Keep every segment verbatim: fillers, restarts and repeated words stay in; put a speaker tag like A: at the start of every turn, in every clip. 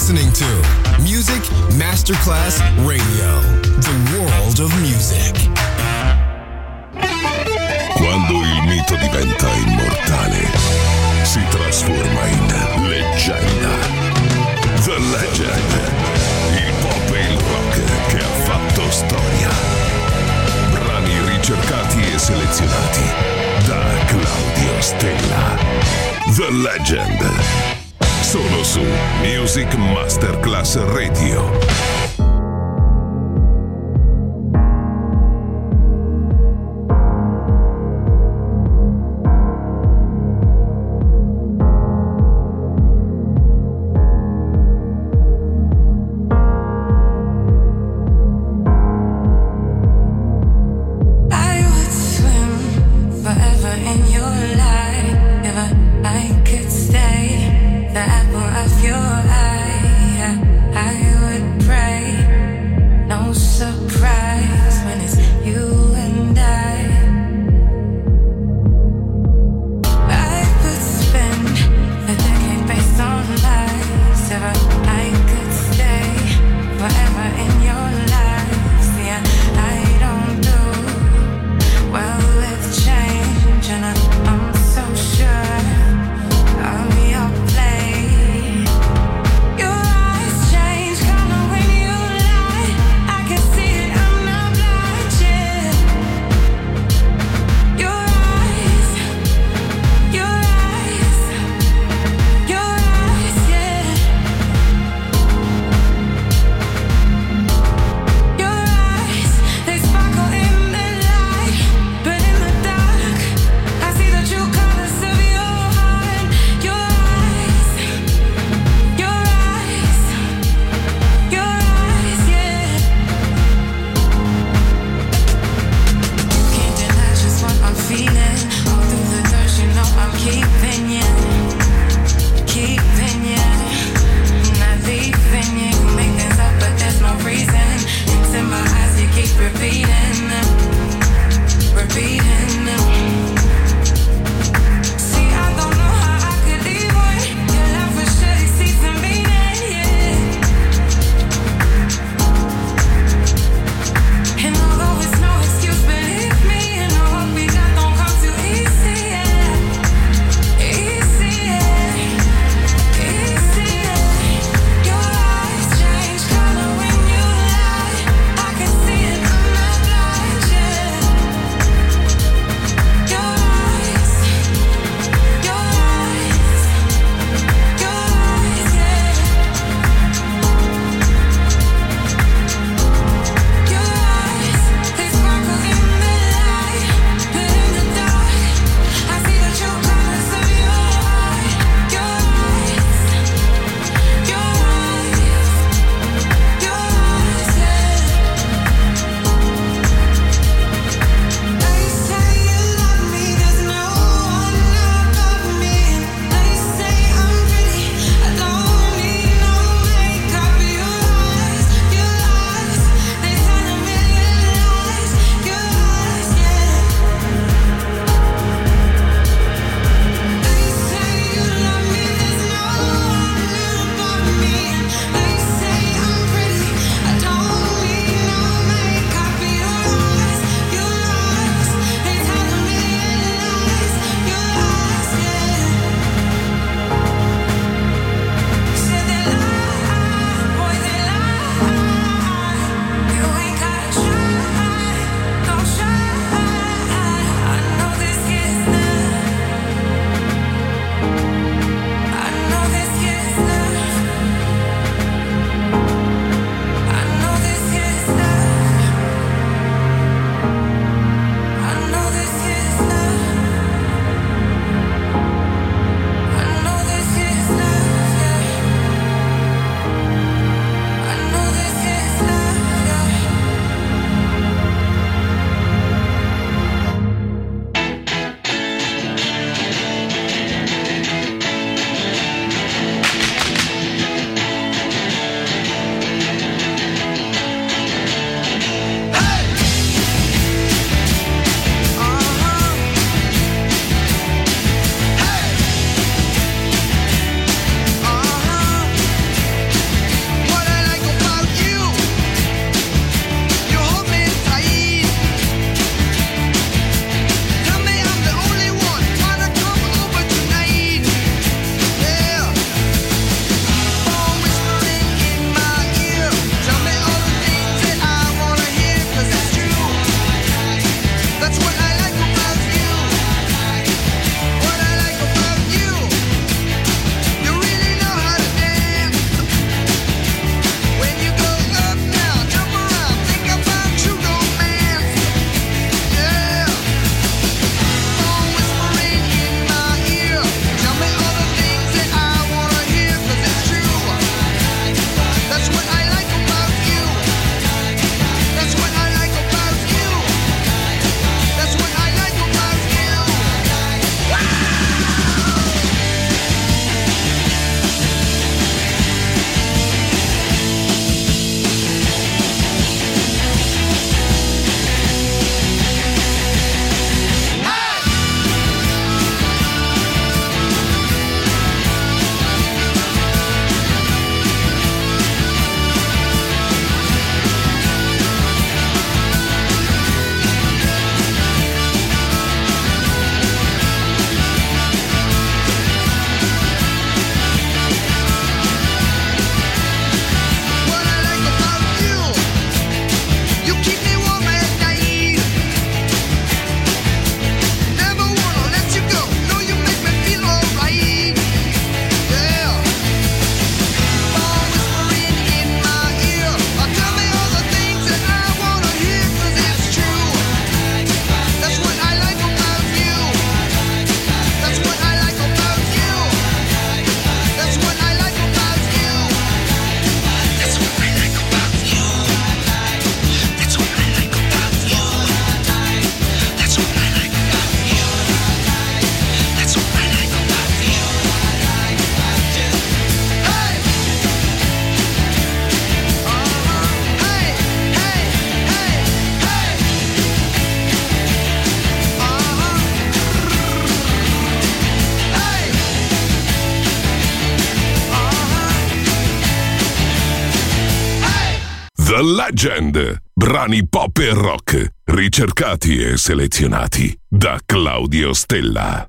A: listening to Music Masterclass Radio, the world of music.
B: Quando il mito diventa immortale, si trasforma in leggenda. The Legend, il pop e il rock che ha fatto storia. Brani ricercati e selezionati da Claudio Stella. The Legend, solo su Music Masterclass Radio.
C: The apple of your eye, I would pray.
B: The Legend. Brani pop e rock, ricercati e selezionati da Claudio Stella.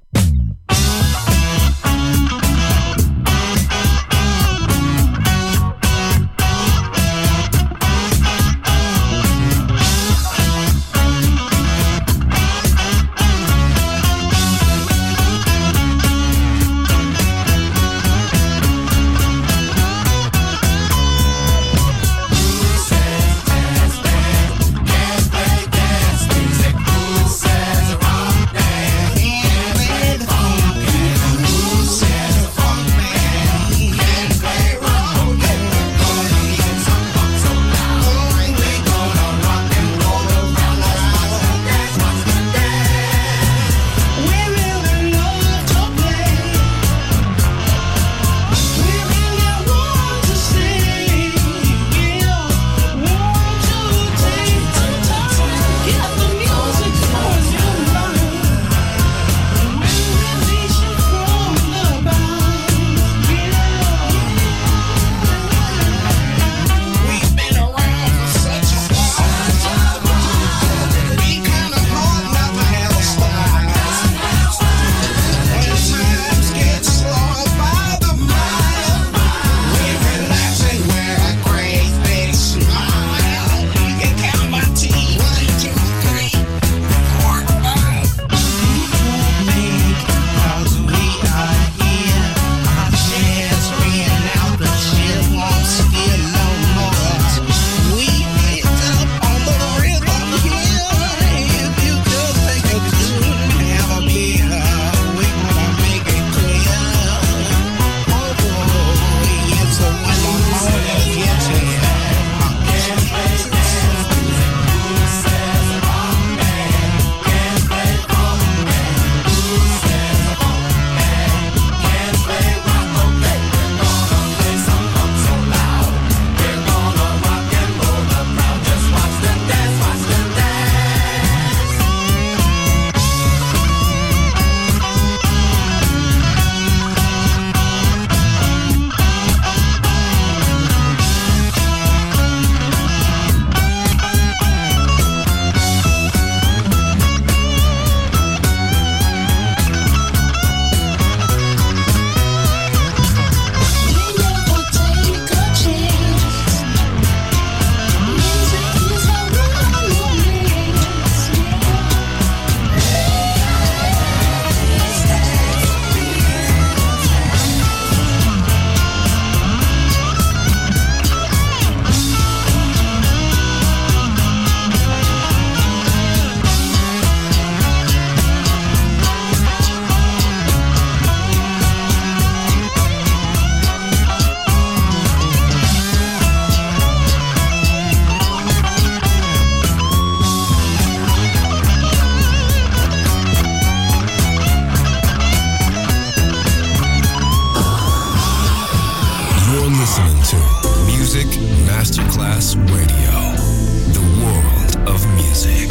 A: Masterclass Radio, the world of music.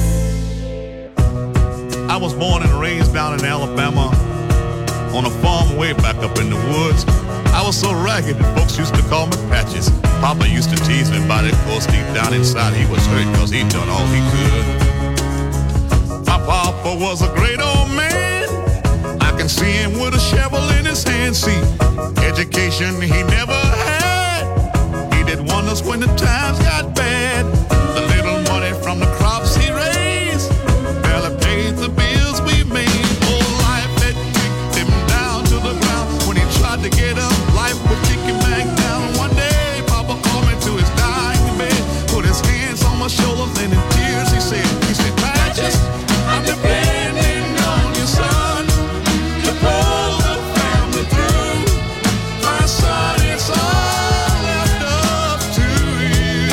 C: I was born and raised down in Alabama on a farm way back up in the woods. I was so ragged that folks used to call me Patches. Papa used to tease me about it, of course deep down inside he was hurt because he'd done all he could. My papa was a great old man. I can see him with a shovel in his hand. See, education he never had. He did wonders when the times got bad. The little money from the crops he raised barely paid the bills we made. Oh, life had kicked him down to the ground. When he tried to get up, life would kick him back down. One day, Papa called me to his dying bed, put his hands on my shoulders, and in tears he said, he said, Patches, I'm depending on you, son, to pull the family through. My son, it's all left up to you.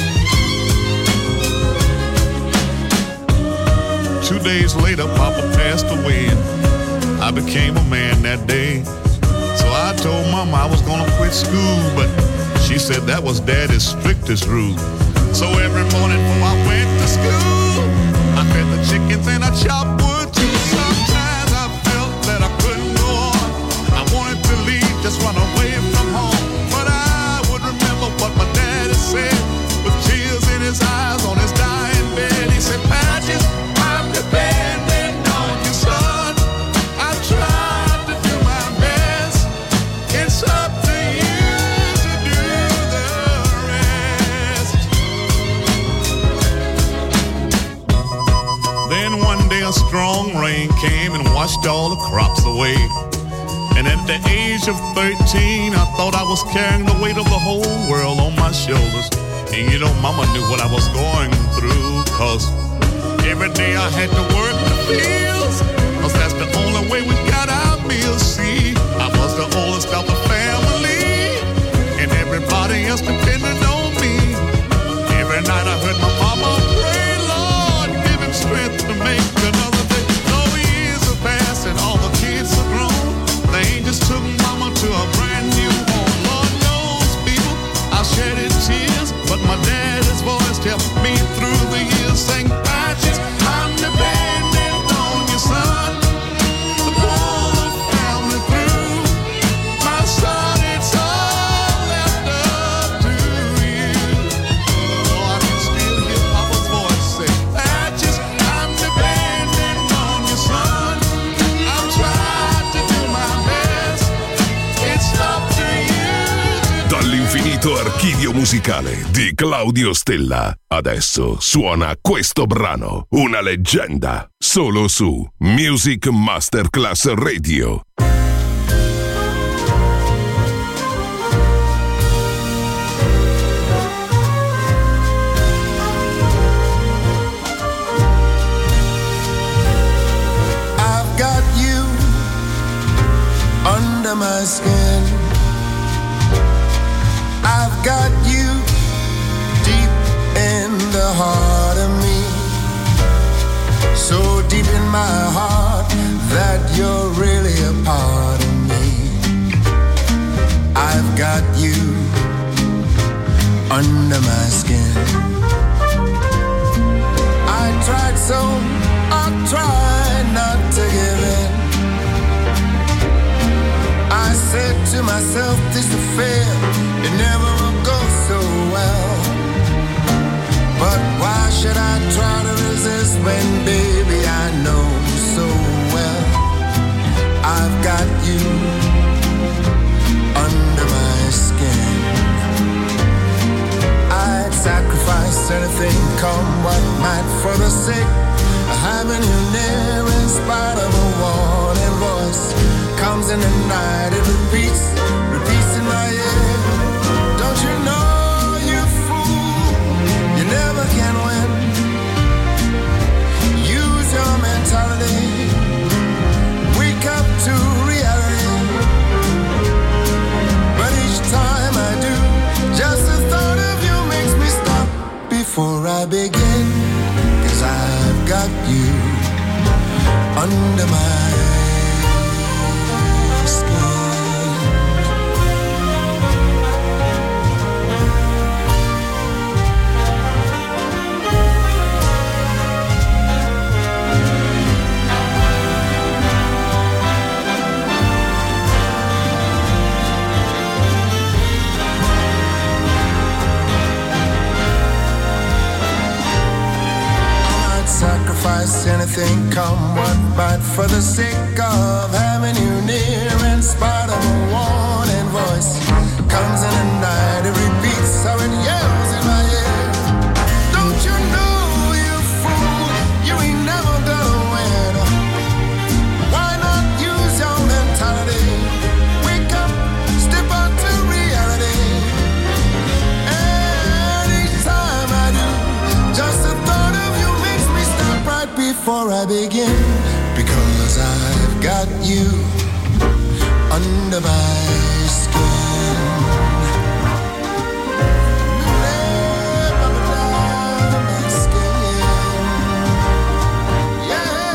C: Two days later, Papa passed away, and I became a man that day. So I told Mama I was gonna quit school, but she said that was Daddy's strictest rule. So every morning before I went to school, I fed the chickens and I chopped wood too. Sometimes I felt that I couldn't go on. I wanted to leave, just run away from home. But I would remember what my daddy said. With rain came and washed all the crops away. And at the age of thirteen, I thought I was carrying the weight of the whole world on my shoulders. And you know, mama knew what I was going through, cause every day I had to work the fields, cause that's the only way we got our meals. See, I was the oldest of the family, and everybody else depended on me. Every night I heard my mama pray, Lord, give him strength to make another day. No years have passed and all the kids are grown. The angels took mama to a brand new home. Lord knows, people, I shedded tears, but my daddy's voice kept me through the years, saying, Patches, I'm dependent on your son to pull the family through. My son, it's all left up to you. Oh, I can still hear Papa's voice say, Patches, I'm dependent on your son. I'm trying to do my best. It's up to you.
B: Dall'infinito archivio musicale di Claudio Stella, adesso suona questo brano, una leggenda, solo su Music Masterclass Radio.
D: I've got you under my skin. I've got you deep in the heart of me, so deep in my heart that you're really a part of me. I've got you under my skin. I tried so, I tried not to give in. I said to myself, this affair, it never will go so well. But why should I try to resist when, baby, I know so well I've got you under my skin. I'd sacrifice anything, come what might, for the sake of having you near. In spite of a warning voice comes in the night, it repeats, repeats in my ear. Don't you know, you fool, you never can win. Use your mentality, wake up to reality. But each time I do, just the thought of you makes me stop before I begin. 'Cause I've got you under my anything, come what might, for the sake of having you near. In spite of a warning voice comes in the night, it repeats how it yells in my ear. Don't you know, you fool, you ain't never gonna win. Why not use your mentality, wake up, step out to reality. And each time I do, just the thought of you makes me stop right before I begin. Because I've got you under my skin. Under my skin. Yeah.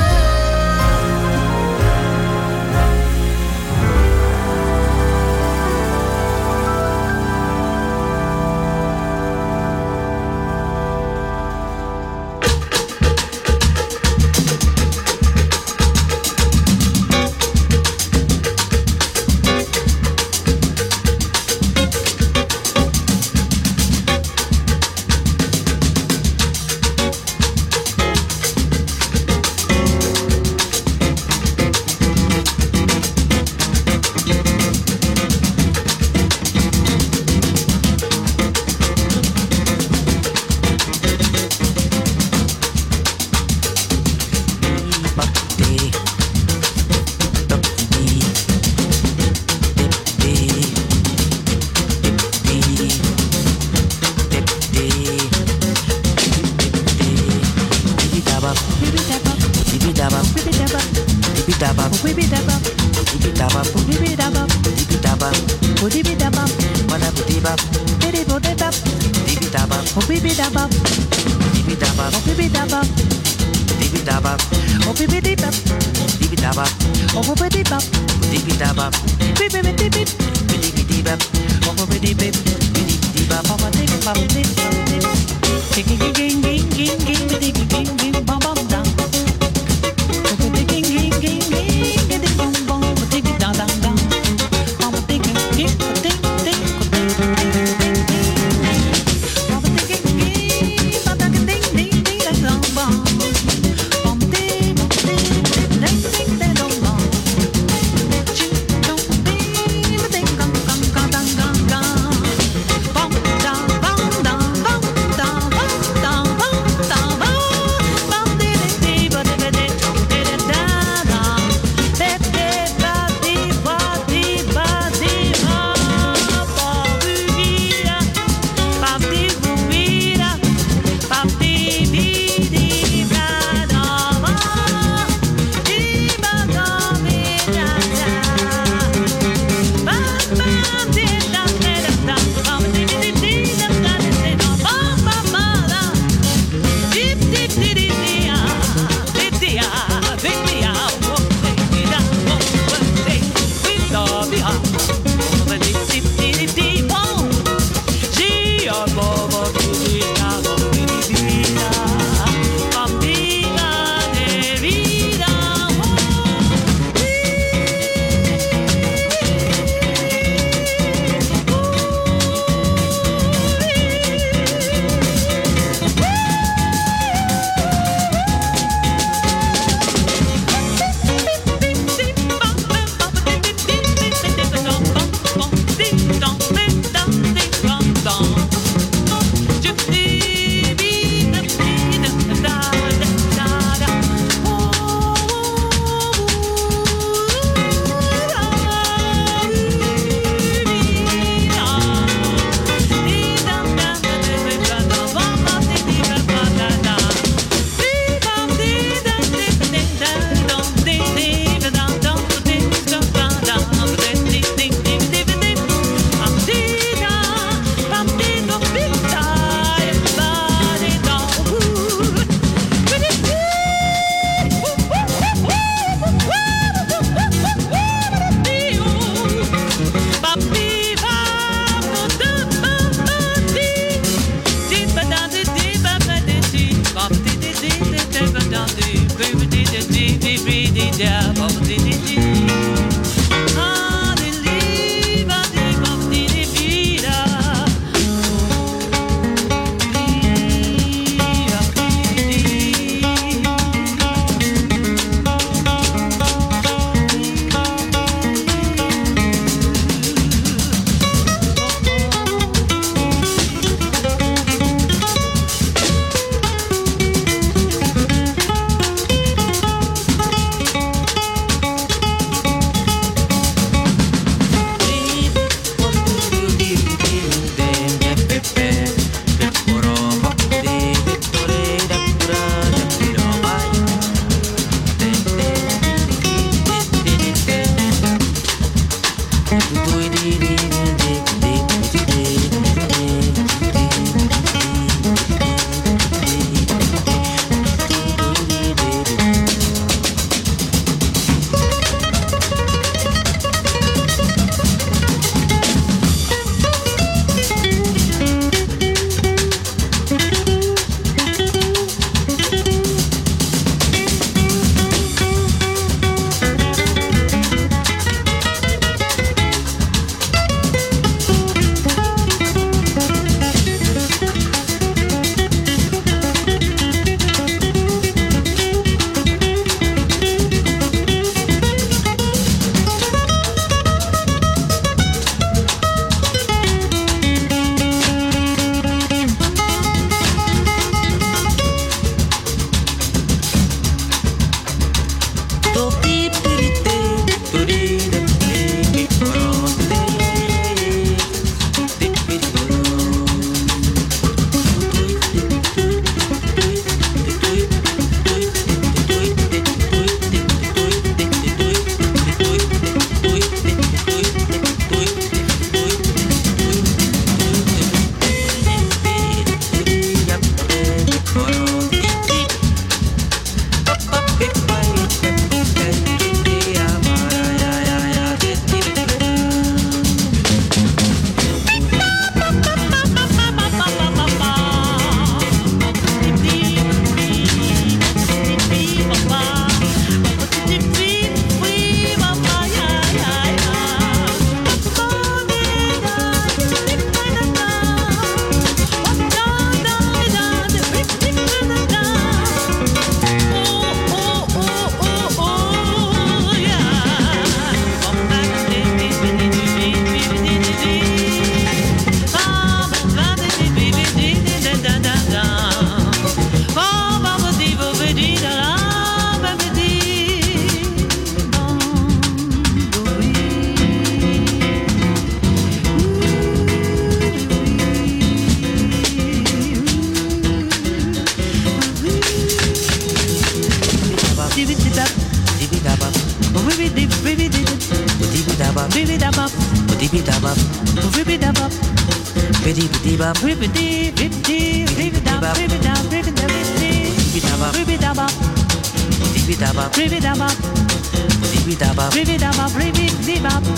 E: Bidi bidi ba, bidi bidi bidi bidi da, bidi da, bidi da, bidi da ba, bidi da ba, bidi da ba, bidi da ba, bidi da ba, bidi da ba, bidi da ba,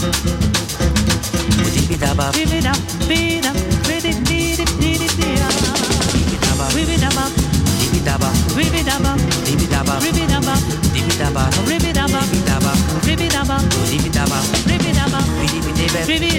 E: bidi da ba, bidi da, bidi da, bidi bidi bidi da, bidi da ba, bidi da ba, bidi da ba, bidi da ba, bidi da ba, bidi da ba, bidi da ba, bidi da ba, bidi da ba, bidi da ba, bidi da ba, bidi da ba, bidi bidi bidi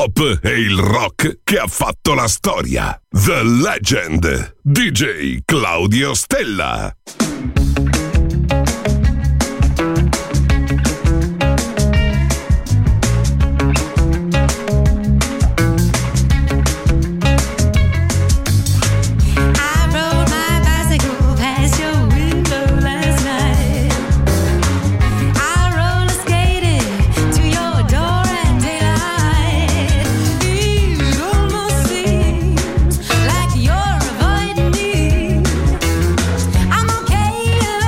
B: pop e il rock che ha fatto la storia. The Legend, D J Claudio Stella.
F: Like you're avoiding me. I'm okay.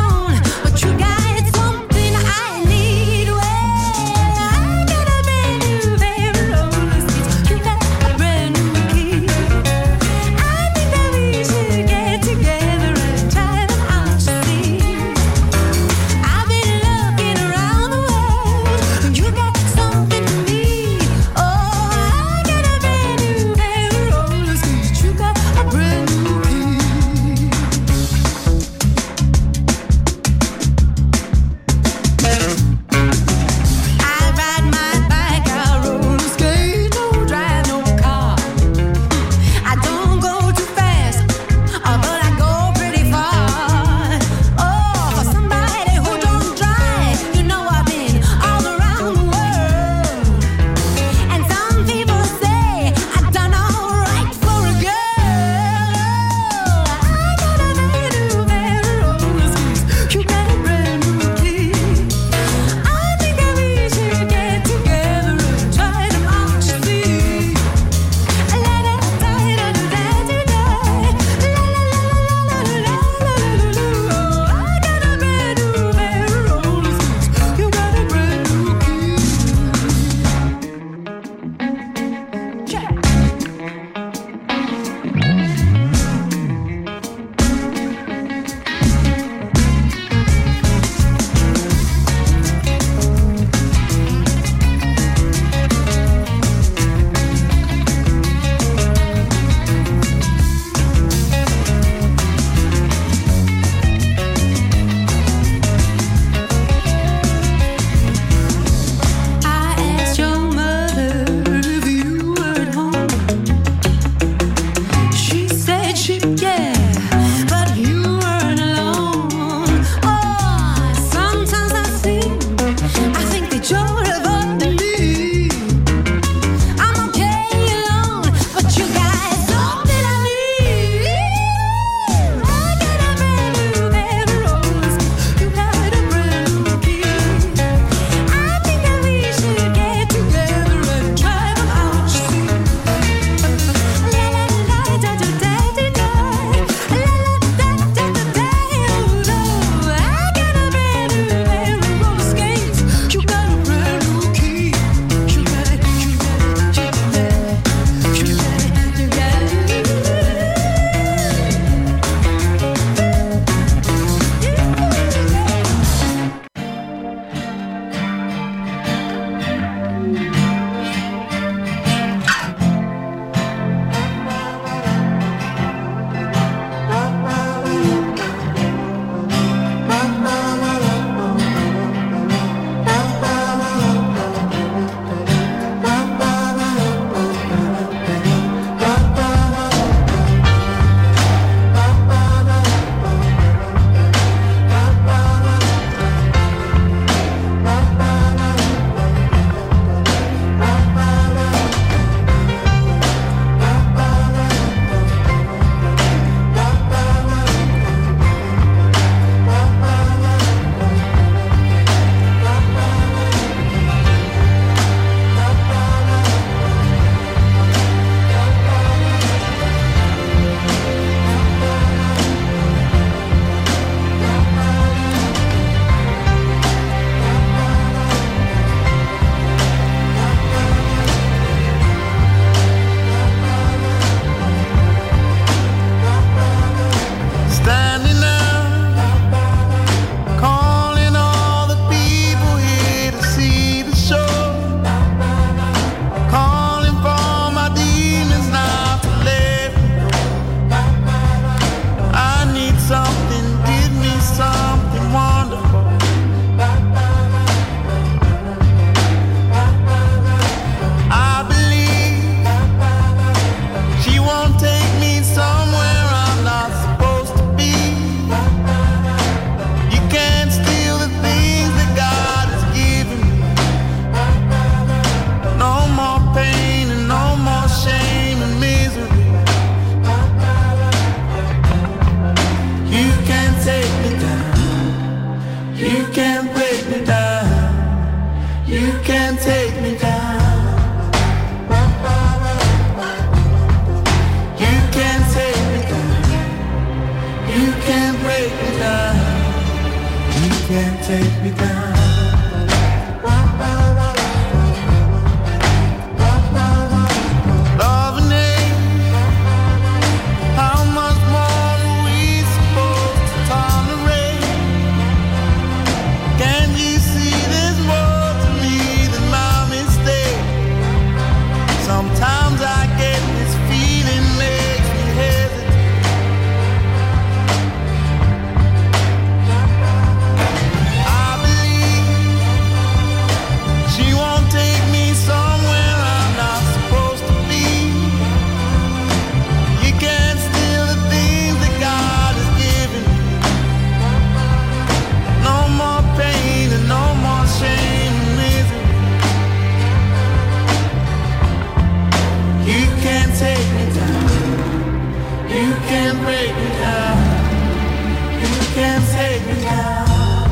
D: You can't break me down. You can't take me down.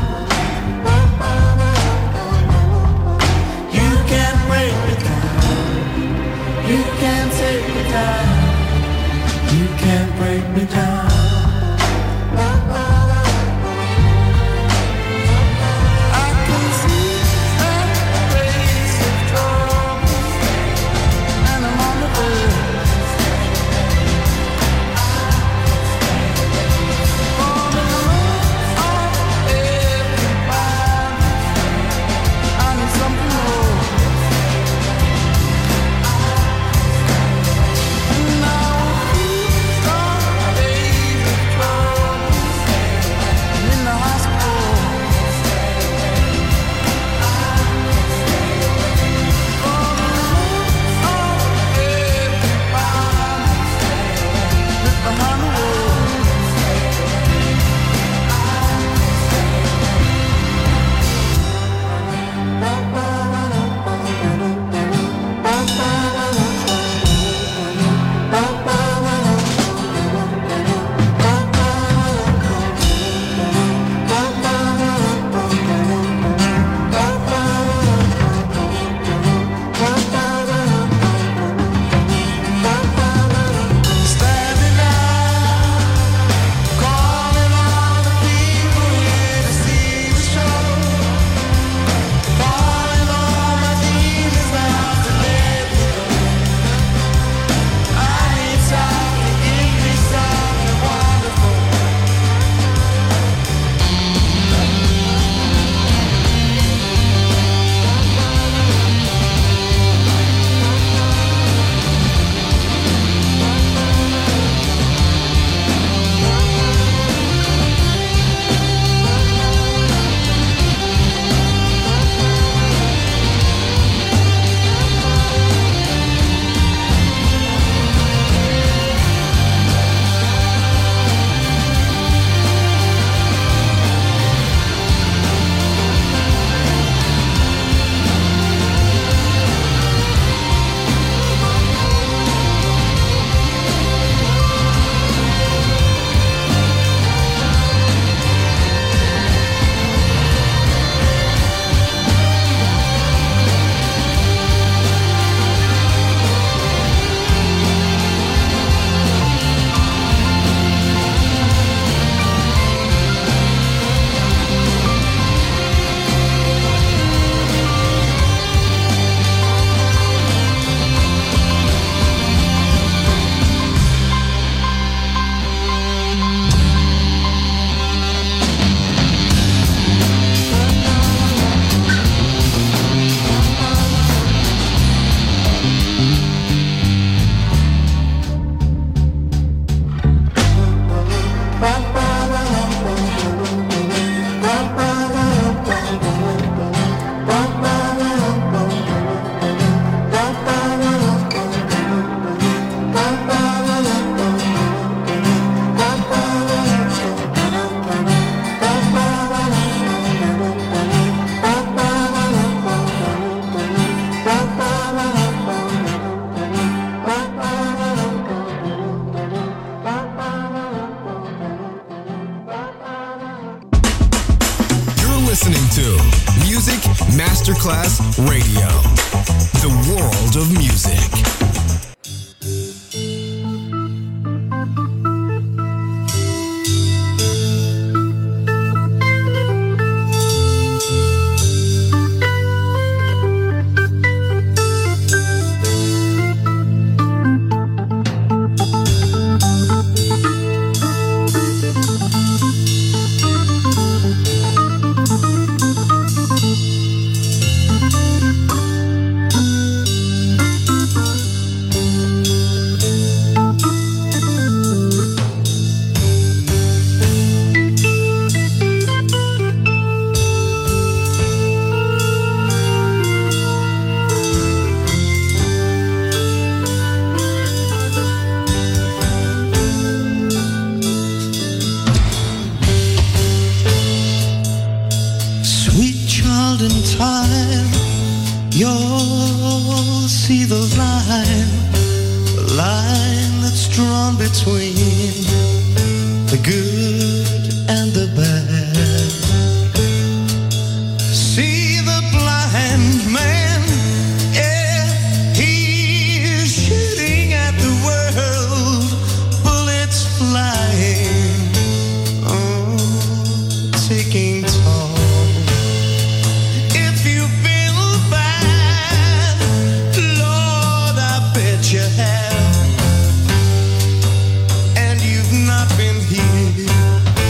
D: You can't break me down. You can't take me down. You can't break me down.
A: Masterclass Radio, the world of music.
F: You'll see the line, the line that's drawn between the good and the bad. See the blind man, yeah, he's shooting at the world, bullets flying, oh, taking toll. If you feel bad, Lord, I bet you have. Not been here.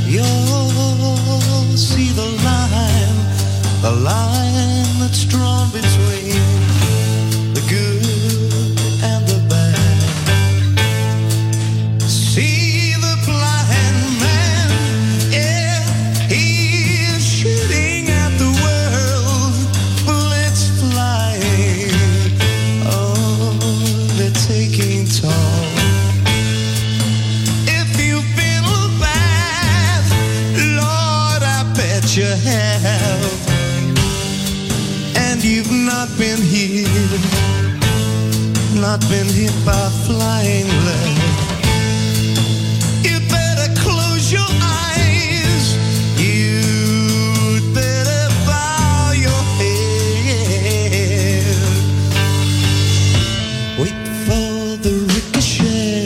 F: You'll see the line, the line that's drawn between the good and the bad. See the blind man, yeah, he's shooting at the world, bullets flying, oh, they're taking toll. If you feel bad, Lord, I bet you have, and you've not been hit, not been hit by flying lead. You better close your eyes, you'd better bow your head. Wait for the ricochet.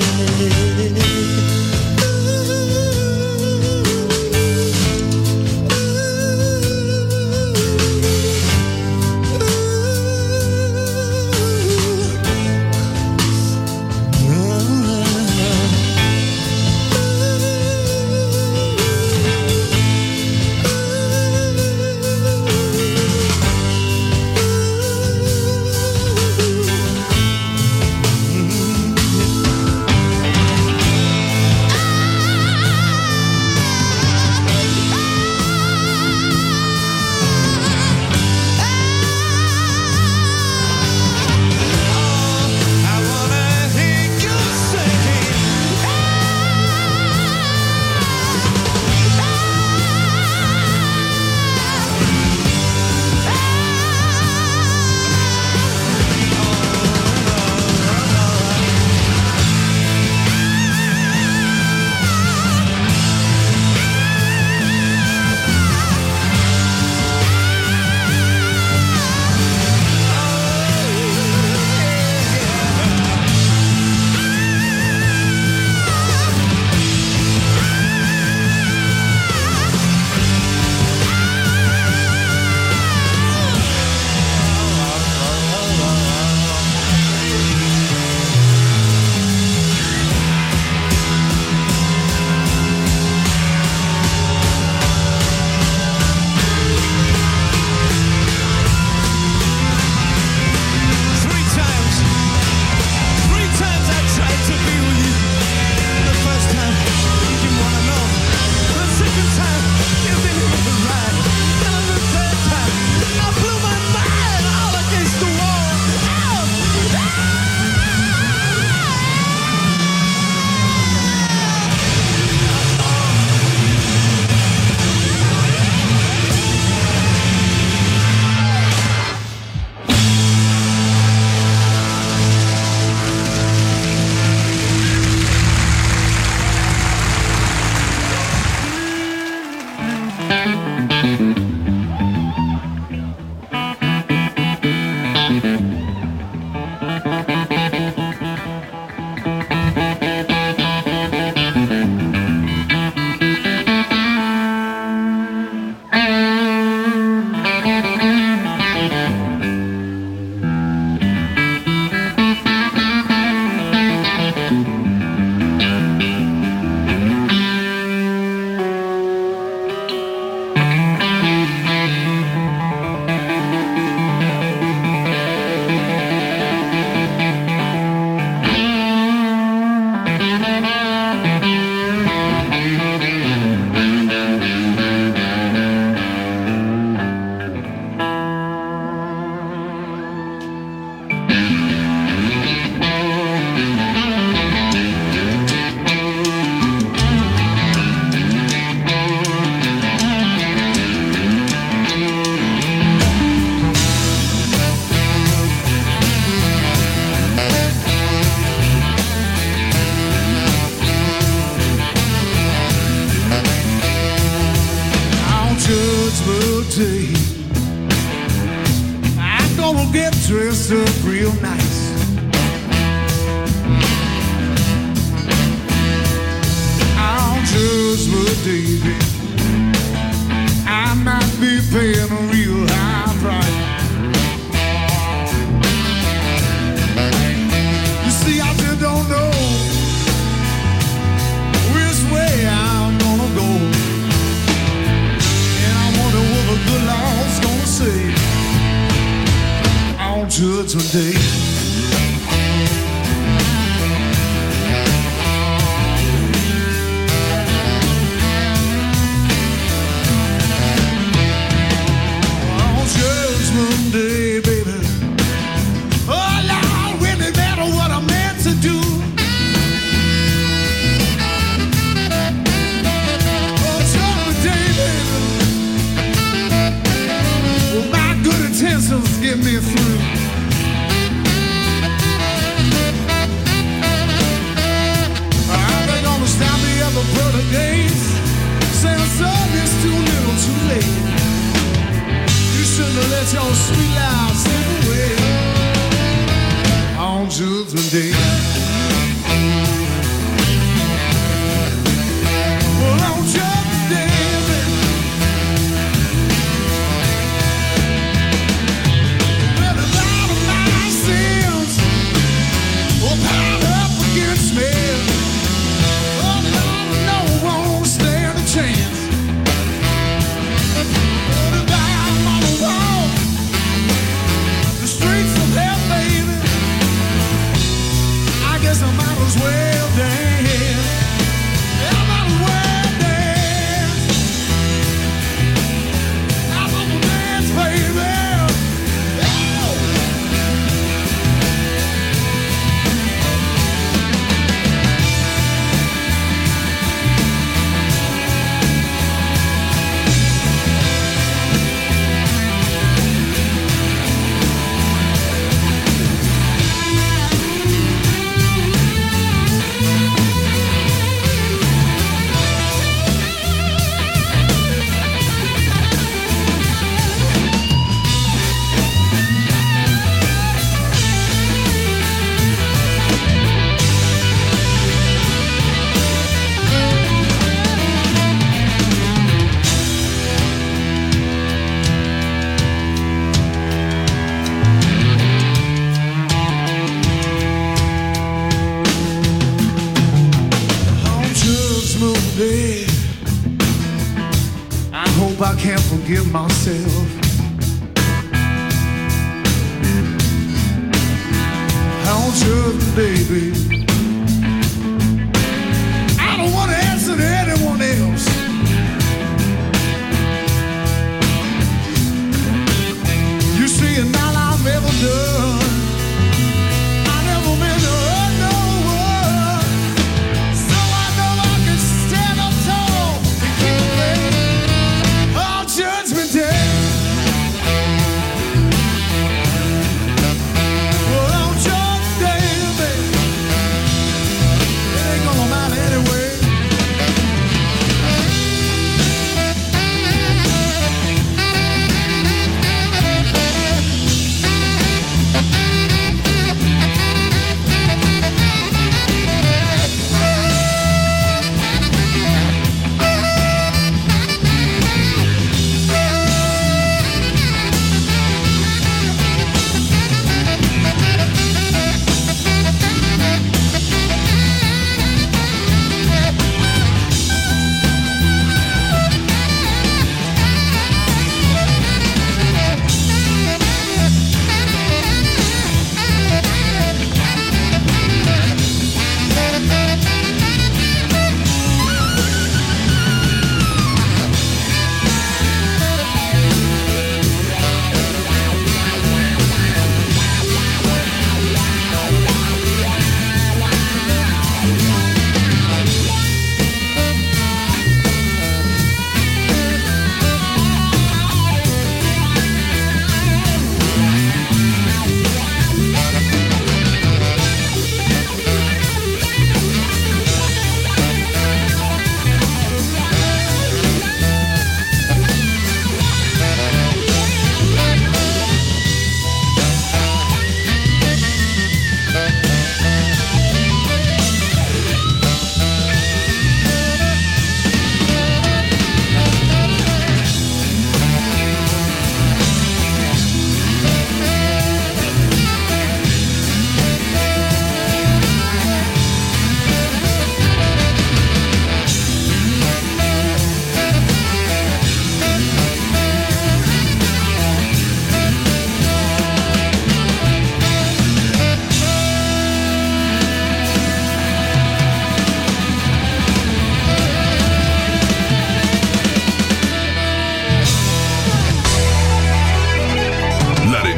G: Day, I'm gonna get dressed up real nice. On Judgment Day, I might be paying a real high price. You see, I just don't know which way I'm gonna go. Day. On Judgment Day, baby. Oh, Lord, really matter what I meant to do. Oh, Judgment Day, baby. Well, my good intentions get me through. The brother gates saying son, it's too little too late. You shouldn't have let your sweet life slip away on Judgment Day. Well, on Judgment Day, baby, well, a lot of my sins will pile up against me. Chance. Put it down on the wall, the streets of hell, baby. I guess I might as well dance. I might as well dance. I'm gonna dance, baby. I can't forgive myself. On Judgment Day, baby, I don't want to answer to anyone else. You see, and all I've ever done, I never meant to hurt no one. So I know I can stand up tall and keep it ready. Judgment Day. Well, on Judgment Day, baby,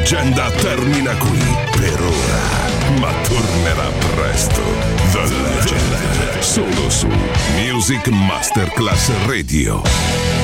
B: leggenda termina qui per ora, ma tornerà presto. The Legend, solo su Music Masterclass Radio.